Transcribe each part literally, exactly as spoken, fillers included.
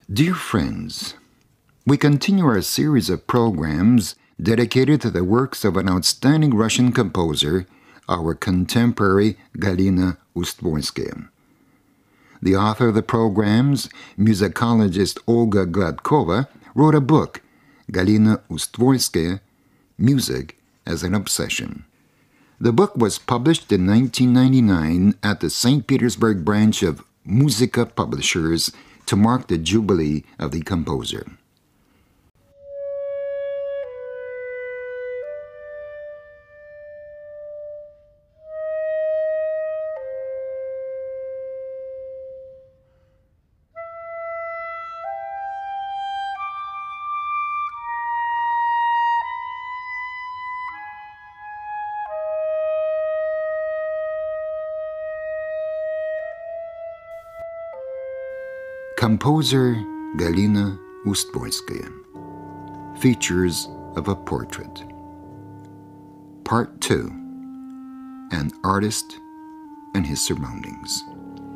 Dear friends, we continue our series of programs dedicated to the works of an outstanding Russian composer, our contemporary Galina Ustvorsky. The author of the programs, musicologist Olga Gladkova, wrote a book, Galina Ustvorsky, Music as an Obsession. The book was published in nineteen ninety-nine at the Saint Petersburg branch of Muzika Publishers to mark the jubilee of the composer. Composer Galina Ustvorsky. Features of a Portrait. Part two. An Artist and His Surroundings.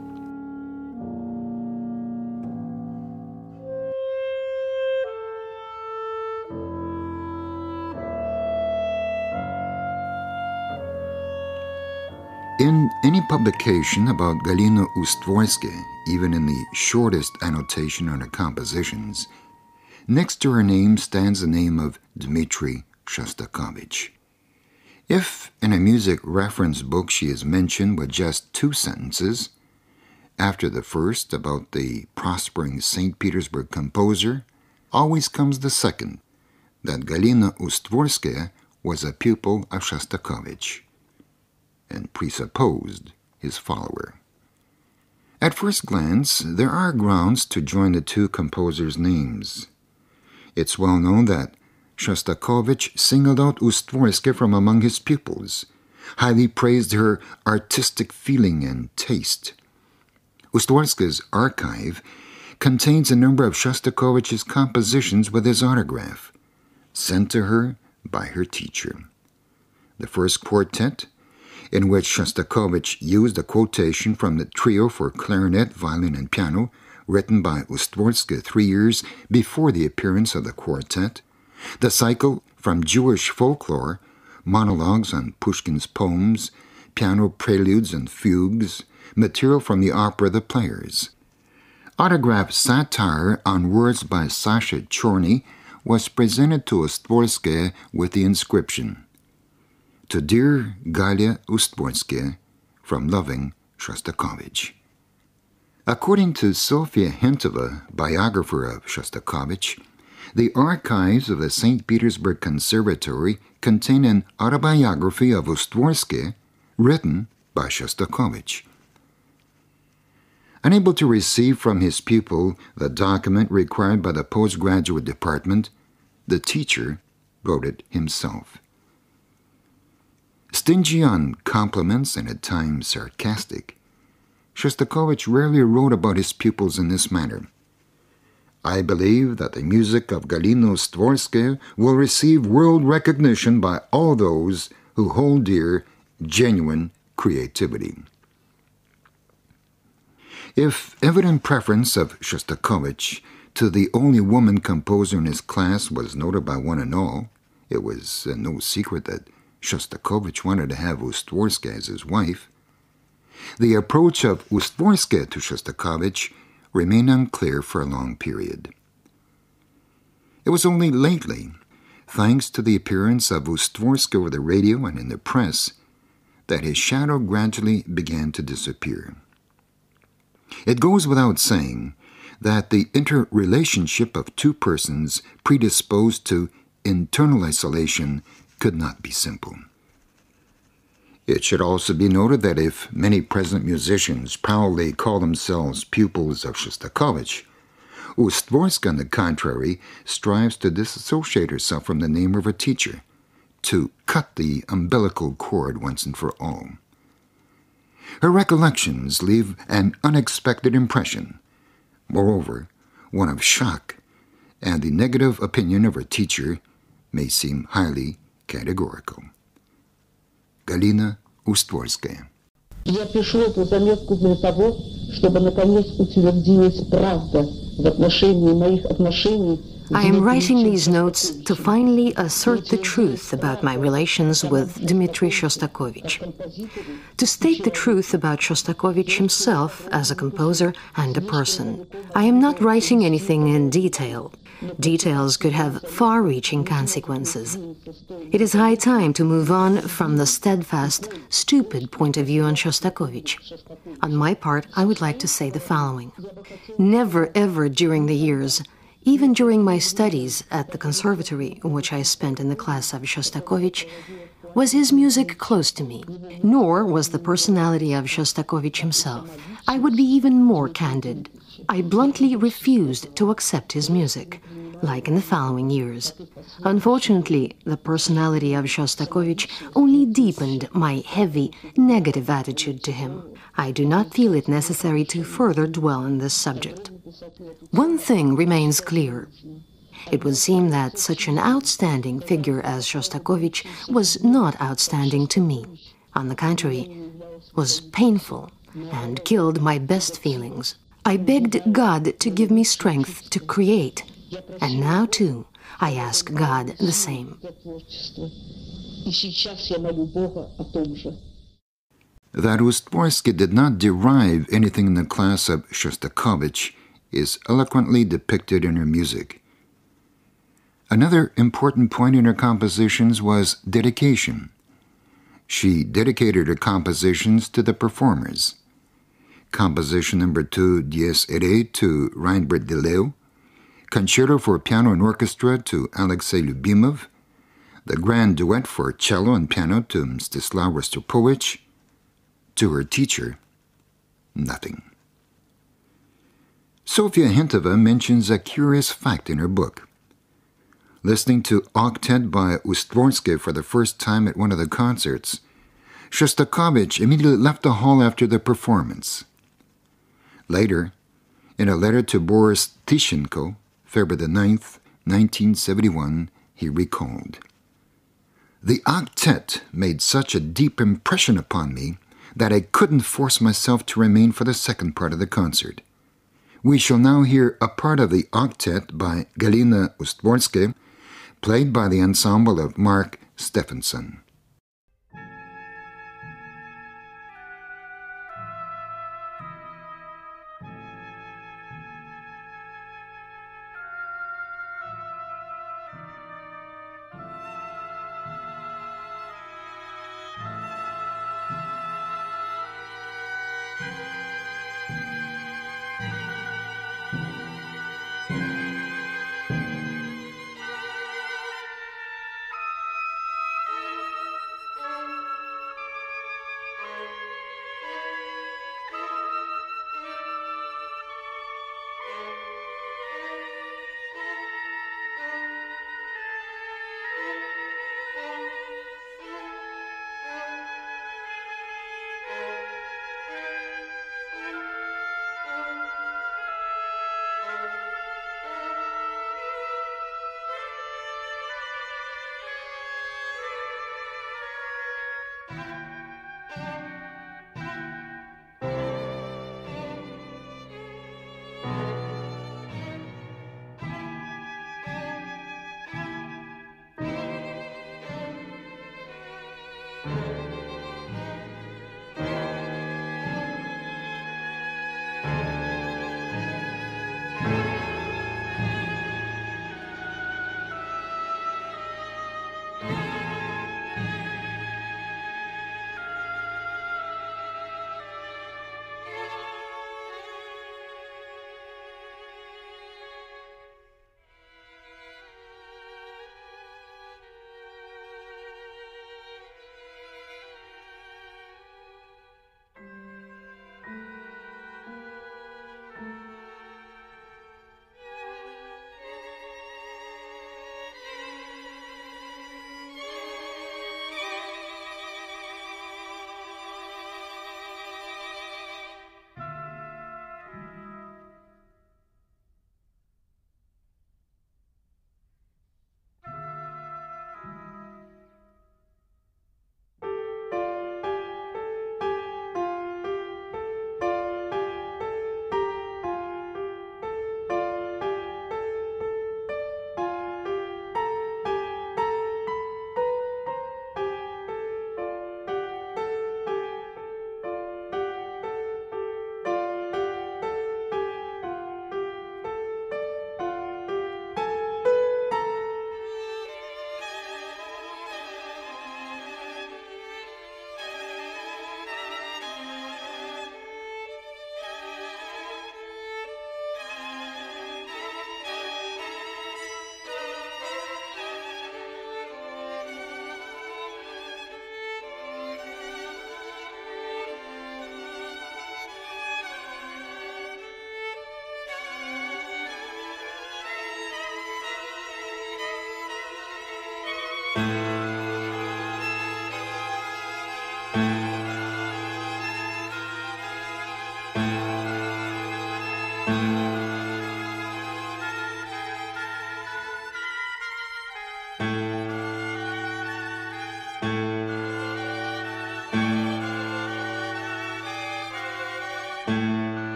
In any publication about Galina Ustvorsky, even in the shortest annotation on her compositions, next to her name stands the name of Dmitri Shostakovich. If in a music reference book she is mentioned with just two sentences, after the first about the prospering Saint Petersburg composer, always comes the second, that Galina Ustvorsky was a pupil of Shostakovich, and presupposed his follower. At first glance, there are grounds to join the two composers' names. It's well known that Shostakovich singled out Ustvorsky from among his pupils, highly praised her artistic feeling and taste. Ustvorsky's archive contains a number of Shostakovich's compositions with his autograph, sent to her by her teacher. The first quartet, in which Shostakovich used a quotation from the trio for clarinet, violin, and piano, written by Ustvorsky three years before the appearance of the quartet, the cycle from Jewish folklore, monologues on Pushkin's poems, piano preludes and fugues, material from the opera The Players. Autographed satire on words by Sasha Chorny was presented to Ustvorsky with the inscription, "To dear Galia Ustvorsky, from loving Shostakovich." According to Sofia Hentova, biographer of Shostakovich, the archives of the Saint Petersburg Conservatory contain an autobiography of Ustvorsky written by Shostakovich. Unable to receive from his pupil the document required by the postgraduate department, the teacher wrote it himself. Stingy on compliments and at times sarcastic, Shostakovich rarely wrote about his pupils in this manner. "I believe that the music of Galina Ustvorsky will receive world recognition by all those who hold dear genuine creativity." If evident preference of Shostakovich to the only woman composer in his class was noted by one and all, it was uh, no secret that Shostakovich wanted to have Ustvorsky as his wife. The approach of Ustvorsky to Shostakovich remained unclear for a long period. It was only lately, thanks to the appearance of Ustvorsky over the radio and in the press, that his shadow gradually began to disappear. It goes without saying that the interrelationship of two persons predisposed to internal isolation could not be simple. It should also be noted that if many present musicians proudly call themselves pupils of Shostakovich, Ustvorsky, on the contrary, strives to disassociate herself from the name of her teacher, to cut the umbilical cord once and for all. Her recollections leave an unexpected impression, moreover, one of shock, and the negative opinion of her teacher may seem highly categorical. Galina Ustvorsky. Я пишу эту заметку для того, чтобы наконец утвердилась правда в отношении моих отношений. I am writing these notes to finally assert the truth about my relations with Dmitri Shostakovich. To state the truth about Shostakovich himself as a composer and a person. I am not writing anything in detail. Details could have far-reaching consequences. It is high time to move on from the steadfast, stupid point of view on Shostakovich. On my part, I would like to say the following. Never ever during the years, even during my studies at the conservatory, which I spent in the class of Shostakovich, was his music close to me, nor was the personality of Shostakovich himself. I would be even more candid. I bluntly refused to accept his music, like in the following years. Unfortunately, the personality of Shostakovich only deepened my heavy, negative attitude to him. I do not feel it necessary to further dwell on this subject. One thing remains clear. It would seem that such an outstanding figure as Shostakovich was not outstanding to me. On the contrary, was painful and killed my best feelings. I begged God to give me strength to create, and now, too, I ask God the same. That Ustvorsky did not derive anything in the class of Shostakovich is eloquently depicted in her music. Another important point in her compositions was dedication. She dedicated her compositions to the performers. Composition number two, Dies Irae, to Reinbert Deleu, Concerto for Piano and Orchestra to Alexei Lyubimov, the Grand Duet for Cello and Piano to Mstislav Rostropovich. To her teacher, nothing. Sofia Hentova mentions a curious fact in her book. Listening to Octet by Ustvorsky for the first time at one of the concerts, Shostakovich immediately left the hall after the performance. Later, in a letter to Boris Tishenko, February the ninth, nineteen seventy-one, he recalled, "The octet made such a deep impression upon me that I couldn't force myself to remain for the second part of the concert. We shall now hear a part of the octet by Galina Ustvorsky, played by the ensemble of Mark Stephenson."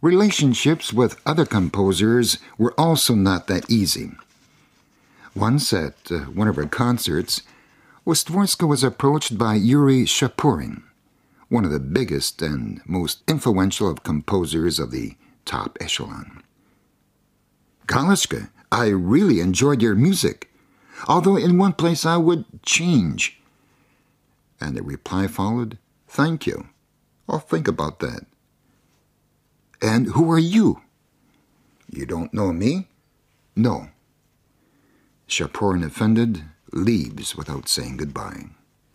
Relationships with other composers were also not that easy. Once at uh, one of her concerts, Ustvorsky was approached by Yuri Shapurin, one of the biggest and most influential of composers of the top echelon. "Galishka, I really enjoyed your music, although in one place I would change." And the reply followed, "Thank you. I'll think about that." "And who are you?" "You don't know me?" "No." Shapurin, offended, leaves without saying goodbye.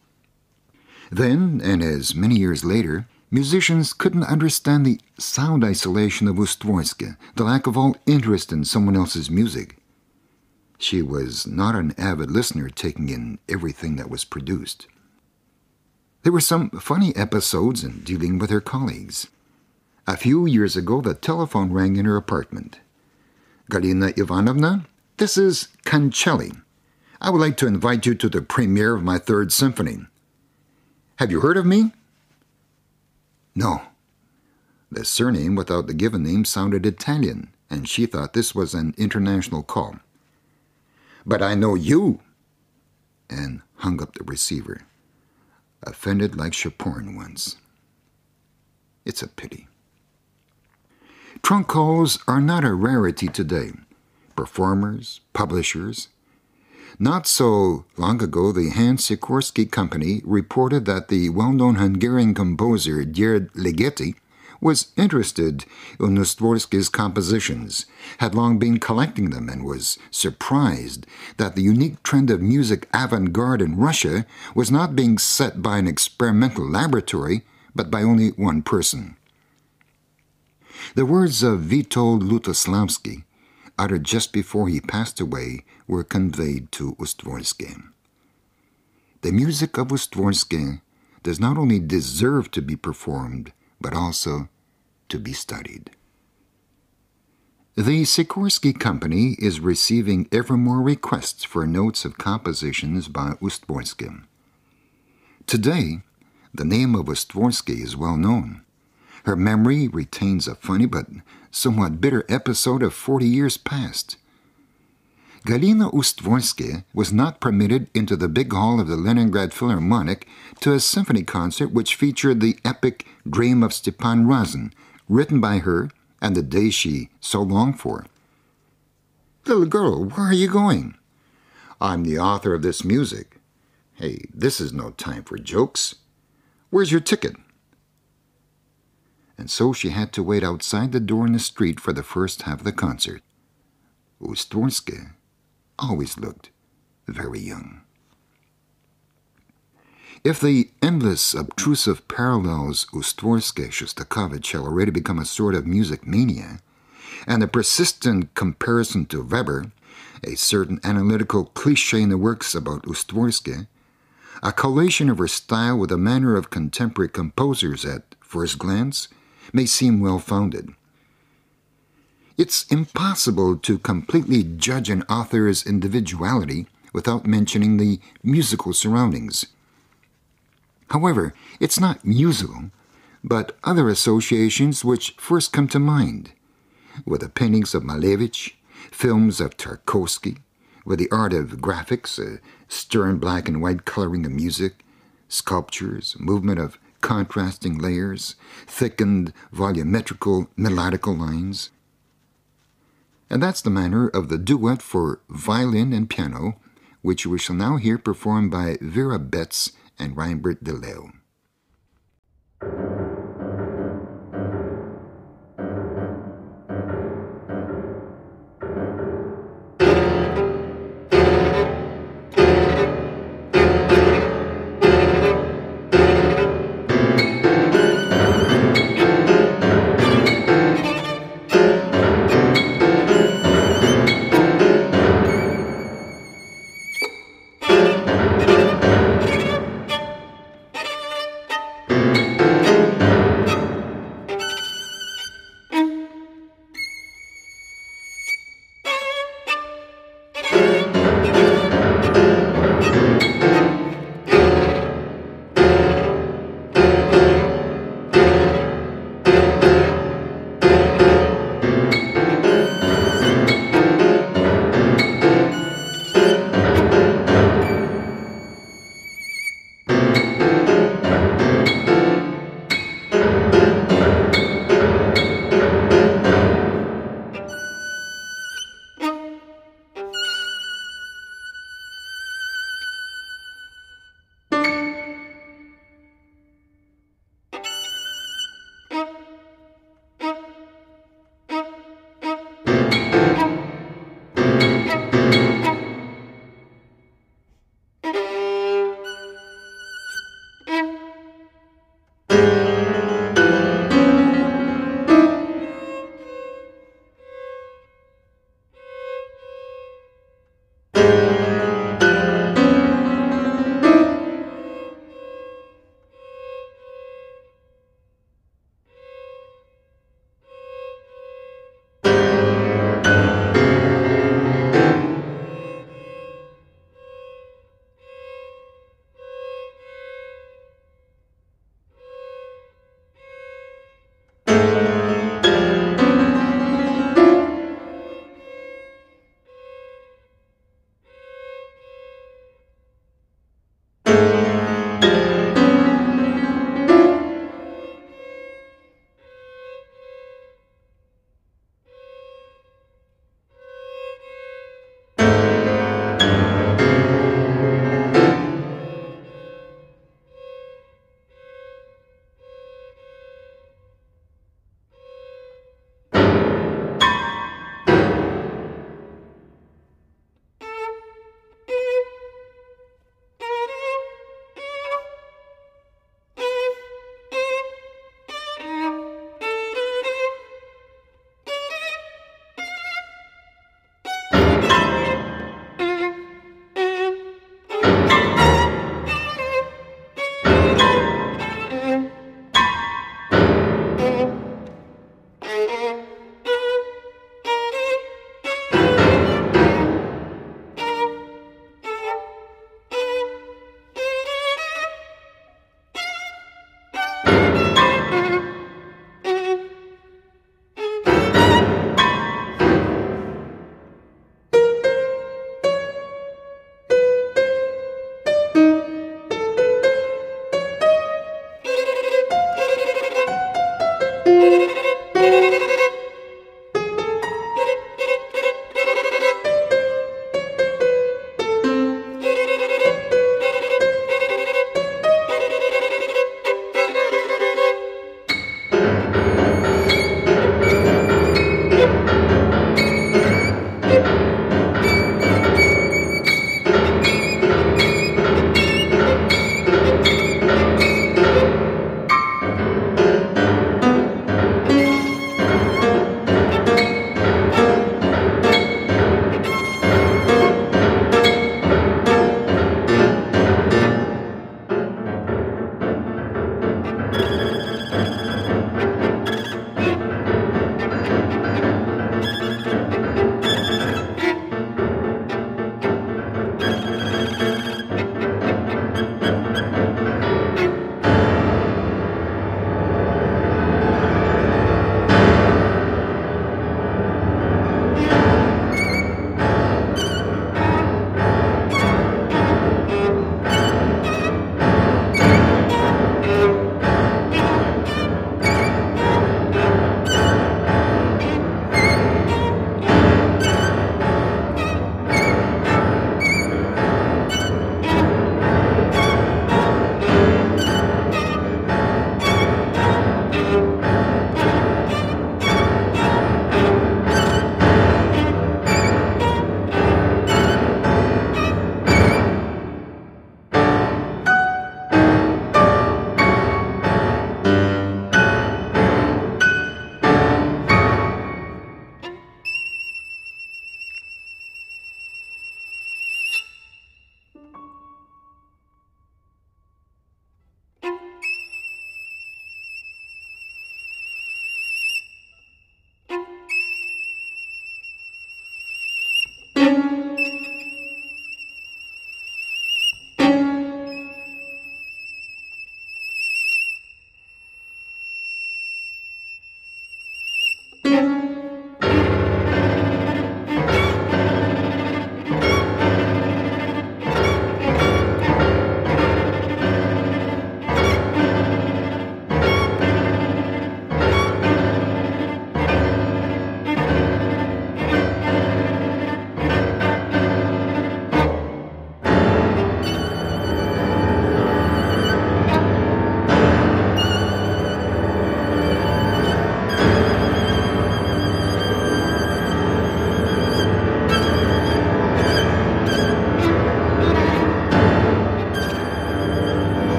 Then, and as many years later, musicians couldn't understand the sound isolation of Ustvorsky, the lack of all interest in someone else's music. She was not an avid listener, taking in everything that was produced. There were some funny episodes in dealing with her colleagues. A few years ago, the telephone rang in her apartment. "Galina Ivanovna, this is Cancelli. I would like to invite you to the premiere of my Third Symphony. Have you heard of me?" "No." The surname without the given name sounded Italian, and she thought this was an international call. "But I know you," and hung up the receiver, offended like Shapurin once. It's a pity. Trunk calls are not a rarity today. Performers, publishers. Not so long ago, the Hans Sikorsky Company reported that the well-known Hungarian composer György Ligeti was interested in Ustvorsky's compositions, had long been collecting them, and was surprised that the unique trend of music avant-garde in Russia was not being set by an experimental laboratory, but by only one person. The words of Witold Lutosławski, uttered just before he passed away, were conveyed to Ustvorsky. The music of Ustvorsky does not only deserve to be performed, but also to be studied. The Sikorsky Company is receiving ever more requests for notes of compositions by Ustvorsky. Today, the name of Ustvorsky is well known. Her memory retains a funny but somewhat bitter episode of forty years past. Galina Ustvorsky was not permitted into the big hall of the Leningrad Philharmonic to a symphony concert which featured the epic Dream of Stepan Razin, written by her and the day she so longed for. "Little girl, where are you going?" "I'm the author of this music." "Hey, this is no time for jokes. Where's your ticket?" And so she had to wait outside the door in the street for the first half of the concert. Ustvorsky always looked very young. If the endless, obtrusive parallels Ustvorsky-Shostakovich have already become a sort of music mania, and the persistent comparison to Weber, a certain analytical cliché in the works about Ustvorsky, a collation of her style with the manner of contemporary composers at first glance, may seem well-founded. It's impossible to completely judge an author's individuality without mentioning the musical surroundings. However, it's not musical, but other associations which first come to mind, with the paintings of Malevich, films of Tarkovsky, with the art of graphics, a stern black and white coloring of music, sculptures, movement of contrasting layers, thickened volumetrical melodical lines. And that's the manner of the duet for violin and piano, which we shall now hear performed by Vera Betts and Reinbert de Leeuw.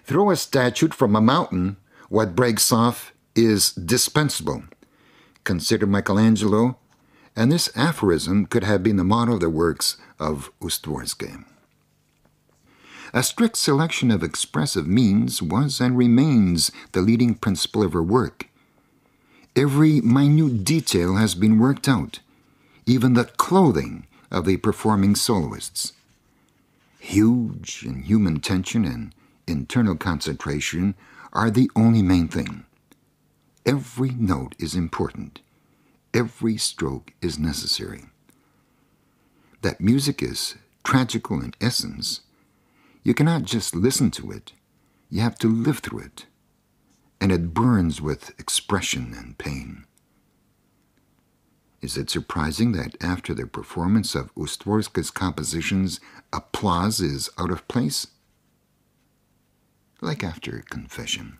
Throw a statute from a mountain, what breaks off is dispensable. Consider Michelangelo, and this aphorism could have been the motto of the works of Ustvorsky. A strict selection of expressive means was and remains the leading principle of her work. Every minute detail has been worked out, even the clothing of the performing soloists. Huge and human tension and internal concentration are the only main thing. Every note is important. Every stroke is necessary. That music is tragical in essence, you cannot just listen to it, you have to live through it, and it burns with expression and pain. Is it surprising that after the performance of Ustvorsky's compositions, applause is out of place? Like after confession.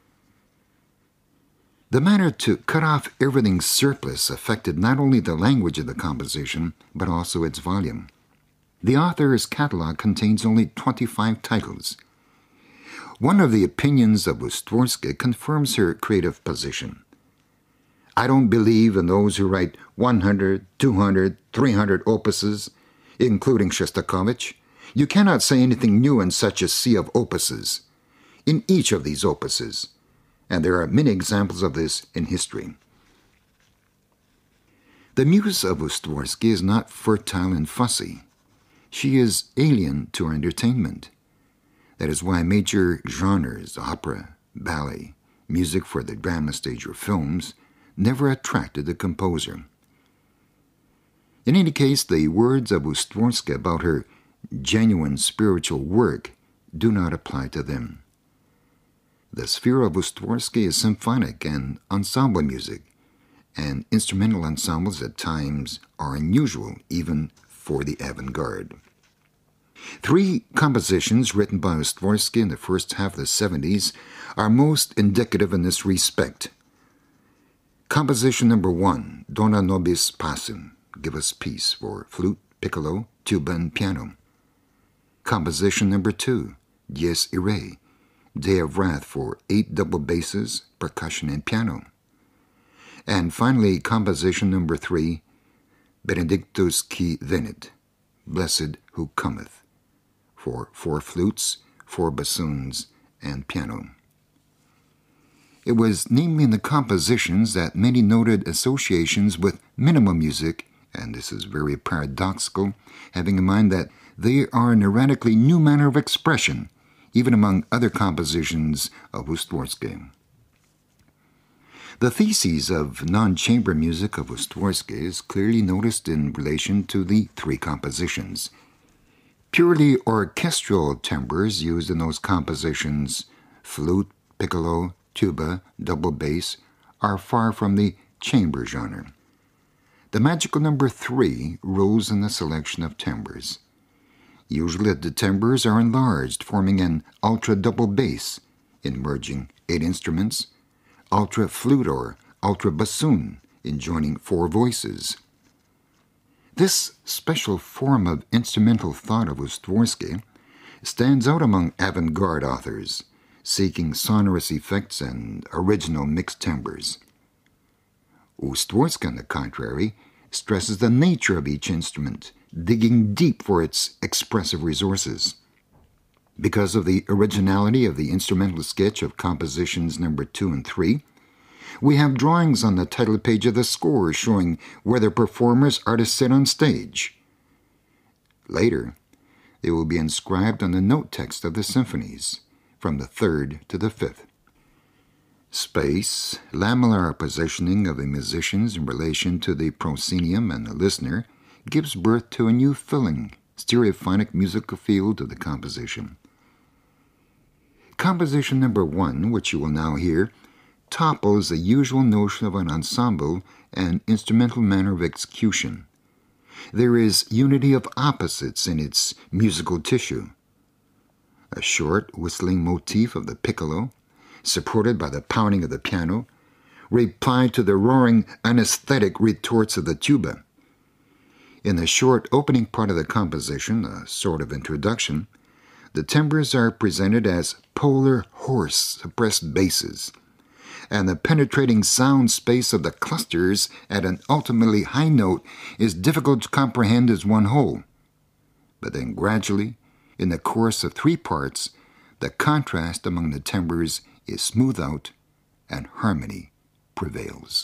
The manner to cut off everything surplus affected not only the language of the composition, but also its volume. The author's catalog contains only twenty-five titles. One of the opinions of Ustvorsky confirms her creative position. I don't believe in those who write one hundred, two hundred, three hundred opuses, including Shostakovich. You cannot say anything new in such a sea of opuses. In each of these opuses, and there are many examples of this in history. The muse of Ustvorsky is not fertile and fussy. She is alien to our entertainment. That is why major genres, opera, ballet, music for the drama stage or films, never attracted the composer. In any case, the words of Ustvorsky about her genuine spiritual work do not apply to them. The sphere of Ustvorsky is symphonic and ensemble music, and instrumental ensembles at times are unusual even for the avant-garde. Three compositions written by Ustvorsky in the first half of the seventies are most indicative in this respect. Composition number one, Dona Nobis Pacem, Give Us Peace, for flute, piccolo, tuba, and piano. Composition number two, Dies Irae, Day of Wrath, for eight double basses, percussion, and piano. And finally, composition number three, Benedictus qui venit, Blessed who cometh, for four flutes, four bassoons, and piano. It was namely in the compositions that many noted associations with minimal music, and this is very paradoxical, having in mind that they are an erratically new manner of expression, even among other compositions of Ustvorsky. The theses of non-chamber music of Ustvorsky is clearly noticed in relation to the three compositions. Purely orchestral timbres used in those compositions, flute, piccolo, tuba, double bass, are far from the chamber genre. The magical number three rules in the selection of timbres. Usually the timbres are enlarged, forming an ultra-double bass, in merging eight instruments, ultra-flute or ultra-bassoon, in joining four voices. This special form of instrumental thought of Ustvorsky stands out among avant-garde authors, seeking sonorous effects and original mixed timbres. Ustvorsky, on the contrary, stresses the nature of each instrument, digging deep for its expressive resources. Because of the originality of the instrumental sketch of compositions number two and three, we have drawings on the title page of the score showing where the performers are to sit on stage. Later, they will be inscribed on the note text of the symphonies, from the third to the fifth. Space, lamellar positioning of the musicians in relation to the proscenium and the listener, gives birth to a new filling, stereophonic musical field of the composition. Composition number one, which you will now hear, topples the usual notion of an ensemble and instrumental manner of execution. There is unity of opposites in its musical tissue. A short whistling motif of the piccolo, supported by the pounding of the piano, replied to the roaring anesthetic retorts of the tuba. In the short opening part of the composition, a sort of introduction, the timbres are presented as polar hoarse suppressed basses, and the penetrating sound space of the clusters at an ultimately high note is difficult to comprehend as one whole. But then gradually, in the course of three parts, the contrast among the timbres is smoothed out and harmony prevails.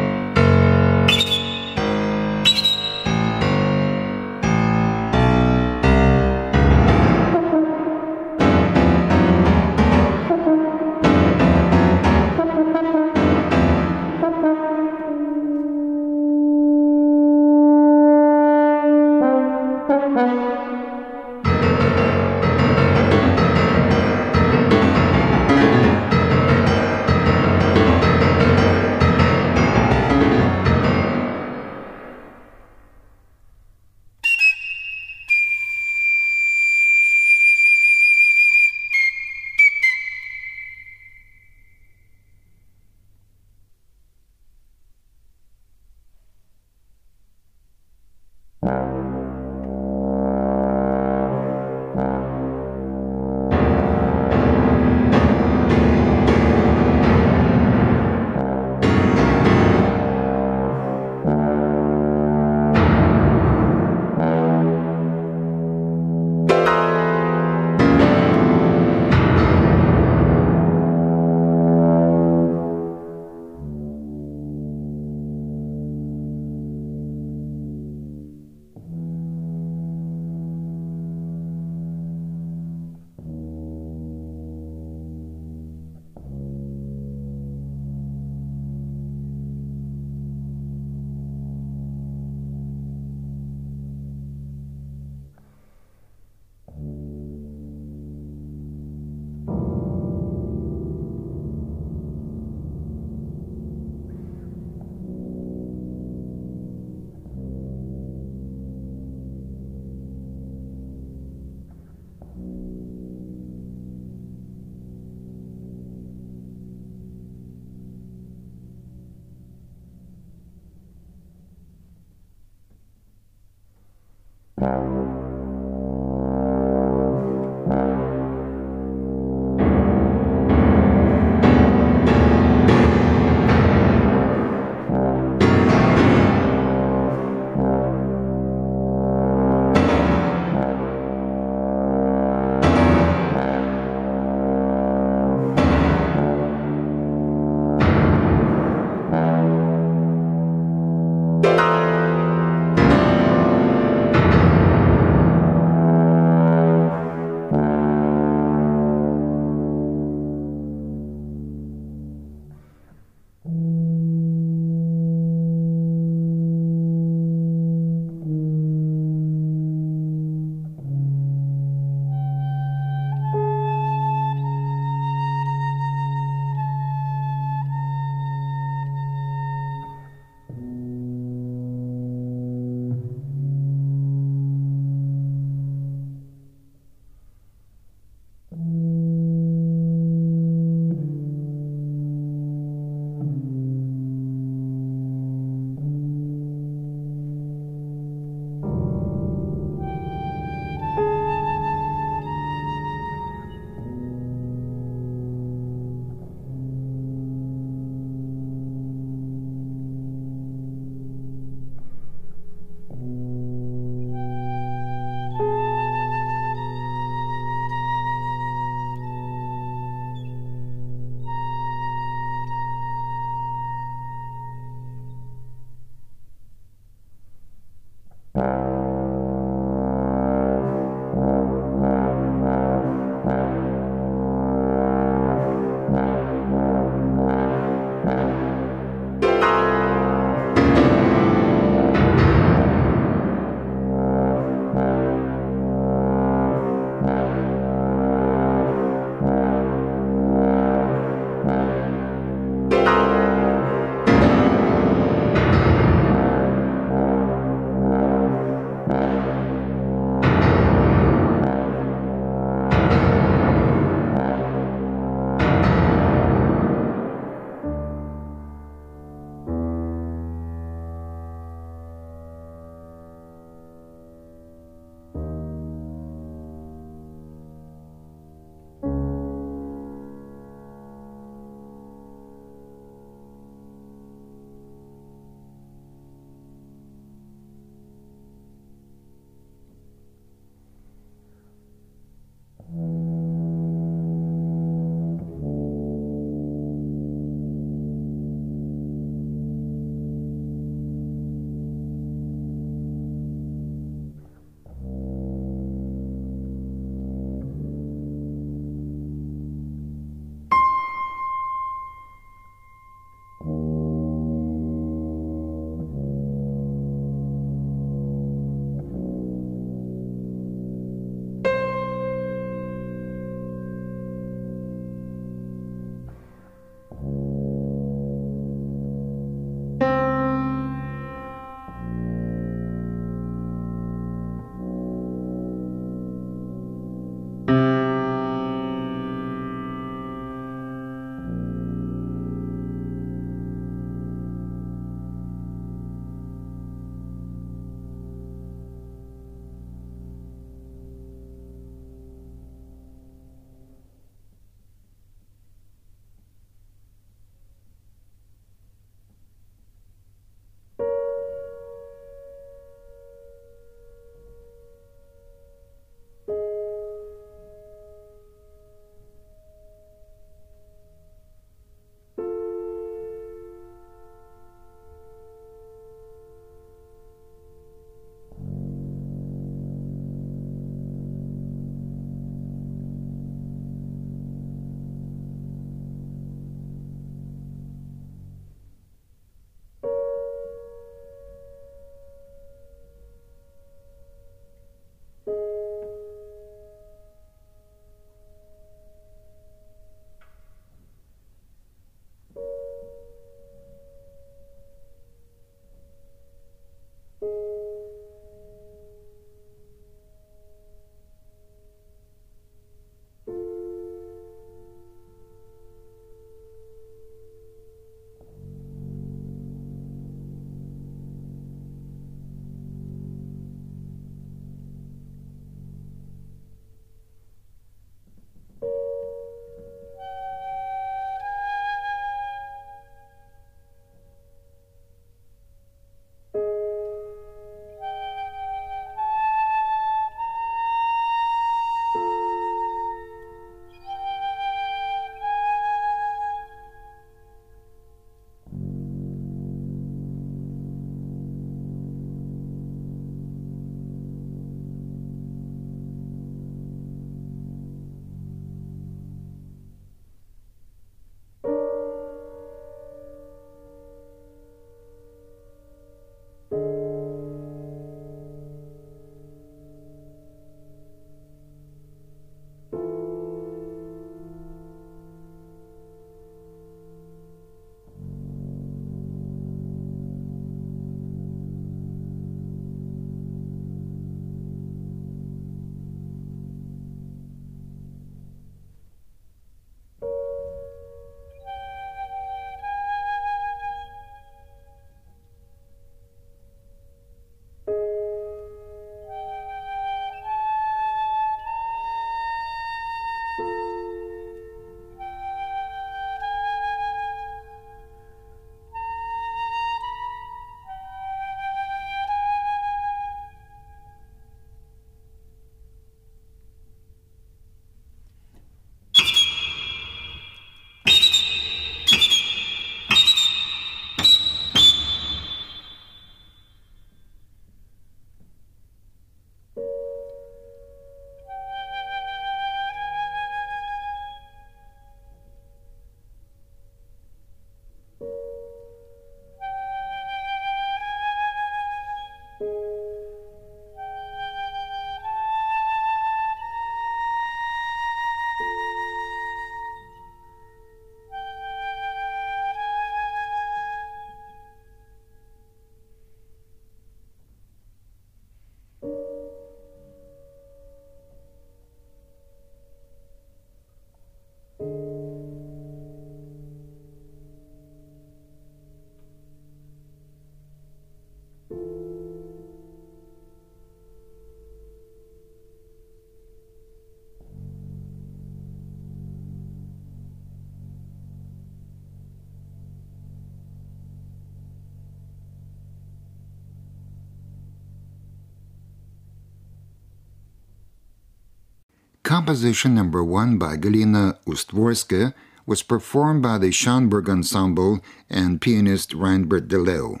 composition number one by Galina Ustworska was performed by the Schönberg Ensemble and pianist Reinbert de Leeuw.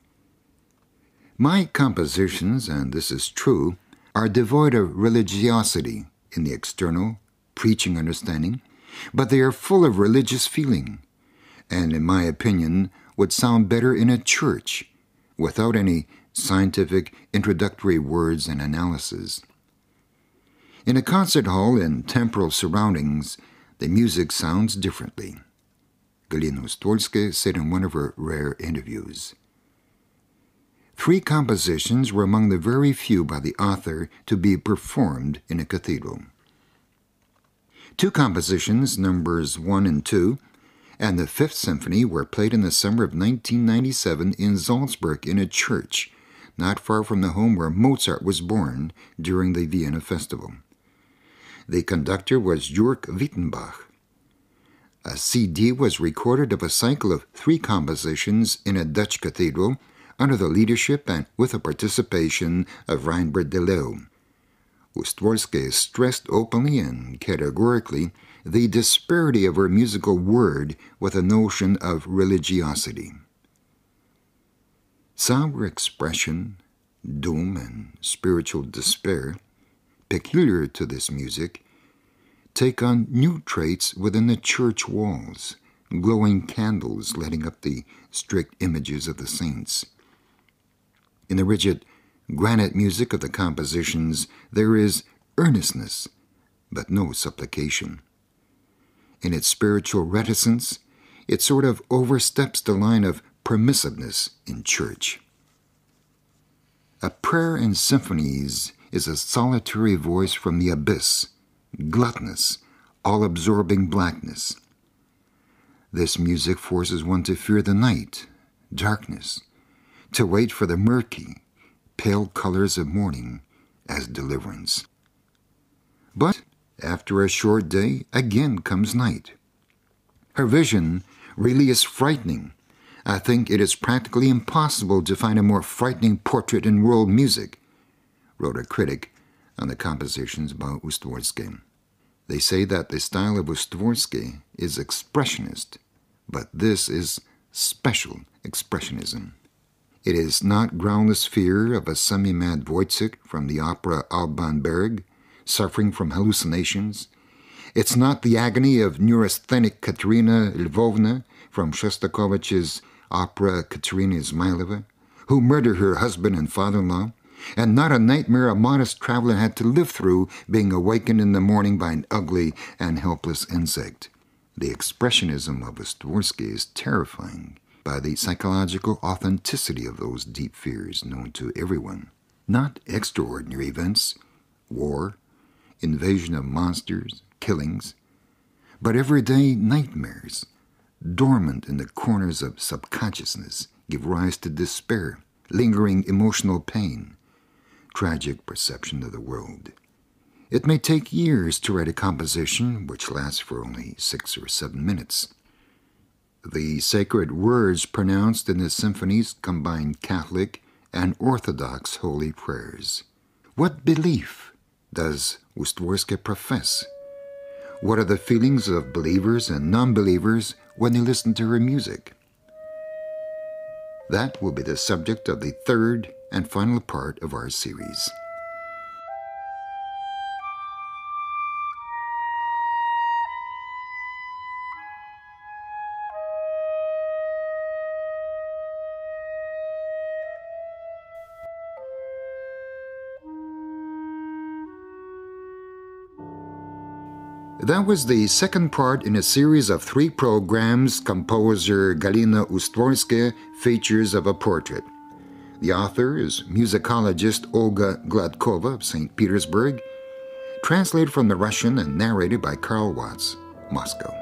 My compositions, and this is true, are devoid of religiosity in the external, preaching understanding, but they are full of religious feeling, and in my opinion would sound better in a church, without any scientific introductory words and analysis. In a concert hall in temporal surroundings, the music sounds differently. Galina Ustworska said in one of her rare interviews. Three compositions were among the very few by the author to be performed in a cathedral. Two compositions, numbers one and two, and the Fifth Symphony were played in the summer of nineteen ninety-seven in Salzburg in a church, not far from the home where Mozart was born during the Vienna Festival. The conductor was Jörg Wittenbach. A C D was recorded of a cycle of three compositions in a Dutch cathedral under the leadership and with the participation of Reinbert de Leeuw. Ustworska stressed openly and categorically the disparity of her musical word with a notion of religiosity. Somber expression, doom, and spiritual despair, peculiar to this music, take on new traits within the church walls, glowing candles lighting up the strict images of the saints. In the rigid granite music of the compositions, there is earnestness, but no supplication. In its spiritual reticence, it sort of oversteps the line of permissiveness in church. A prayer in symphonies is a solitary voice from the abyss, gluttonous, all-absorbing blackness. This music forces one to fear the night, darkness, to wait for the murky, pale colors of morning as deliverance. But after a short day, again comes night. Her vision really is frightening. I think it is practically impossible to find a more frightening portrait in world music, wrote a critic on the compositions by Ustworska. They say that the style of Ustworska is expressionist, but this is special expressionism. It is not groundless fear of a semi-mad Wojciech from the opera Alban Berg, suffering from hallucinations. It's not the agony of neurasthenic Katerina Lvovna from Shostakovich's opera Katerina Izmailova, who murdered her husband and father-in-law, and not a nightmare a modest traveler had to live through being awakened in the morning by an ugly and helpless insect. The expressionism of Ustworska is terrifying by the psychological authenticity of those deep fears known to everyone. Not extraordinary events, war, invasion of monsters, killings, but everyday nightmares, dormant in the corners of subconsciousness, give rise to despair, lingering emotional pain, tragic perception of the world. It may take years to write a composition which lasts for only six or seven minutes. The sacred words pronounced in the symphonies combine Catholic and Orthodox holy prayers. What belief does Ustworska profess? What are the feelings of believers and non-believers when they listen to her music? That will be the subject of the third and final part of our series. That was the second part in a series of three programs composer Galina Ustworska features of a portrait. The author is musicologist Olga Gladkova of Saint Petersburg, translated from the Russian and narrated by Karl Watts, Moscow.